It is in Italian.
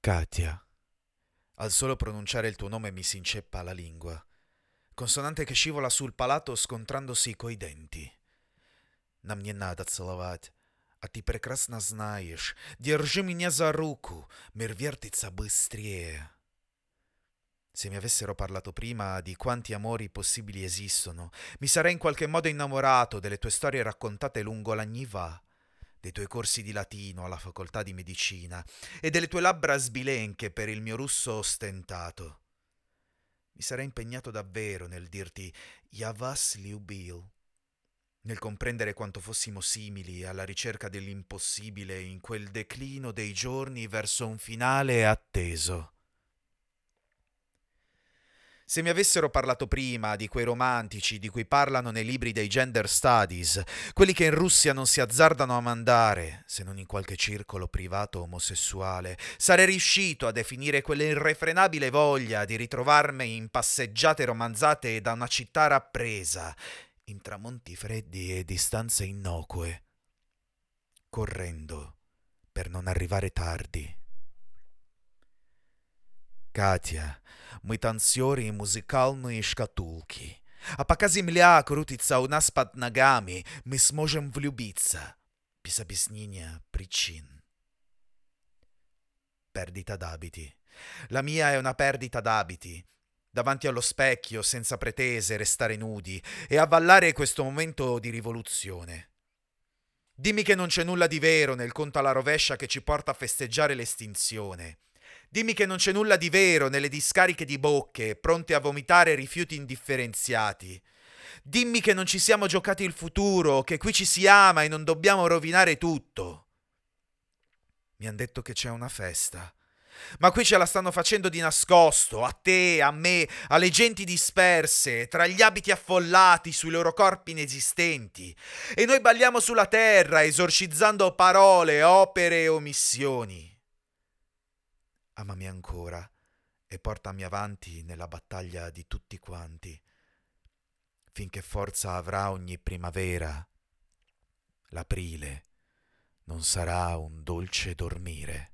Katia. Al solo pronunciare il tuo nome mi si inceppa la lingua, consonante che scivola sul palato scontrandosi coi denti. Нам не надо целовать, а ты прекрасно знаешь. Держи меня за руку, мир вертится быстрее. Se mi avessero parlato prima di quanti amori possibili esistono, mi sarei in qualche modo innamorato delle tue storie raccontate lungo la Gniva, dei tuoi corsi di latino alla facoltà di medicina e delle tue labbra sbilenche per il mio russo ostentato. Mi sarei impegnato davvero nel dirti «Я вас любил», nel comprendere quanto fossimo simili alla ricerca dell'impossibile in quel declino dei giorni verso un finale atteso. Se mi avessero parlato prima di quei romantici di cui parlano nei libri dei gender studies, quelli che in Russia non si azzardano a mandare, se non in qualche circolo privato omosessuale, sarei riuscito a definire quella irrefrenabile voglia di ritrovarmi in passeggiate romanzate da una città rappresa, in tramonti freddi e distanze innocue, correndo per non arrivare tardi. Катя, мы танцоры и музыкальные шкатулки. А пока земля крутится у нас под ногами, мы сможем влюбиться. Без объяснения причин. Perdita d'abiti. La mia è una perdita d'abiti. Davanti allo specchio, senza pretese, restare nudi e avvallare questo momento di rivoluzione. Dimmi che non c'è nulla di vero nel conto alla rovescia che ci porta a festeggiare l'estinzione. Dimmi che non c'è nulla di vero nelle discariche di bocche, pronte a vomitare rifiuti indifferenziati. Dimmi che non ci siamo giocati il futuro, che qui ci si ama e non dobbiamo rovinare tutto. Mi han detto che c'è una festa. Ma qui ce la stanno facendo di nascosto, a te, a me, alle genti disperse, tra gli abiti affollati sui loro corpi inesistenti. E noi balliamo sulla terra, esorcizzando parole, opere e omissioni. Amami ancora e portami avanti nella battaglia di tutti quanti, finché forza avrà ogni primavera. L'aprile non sarà un dolce dormire.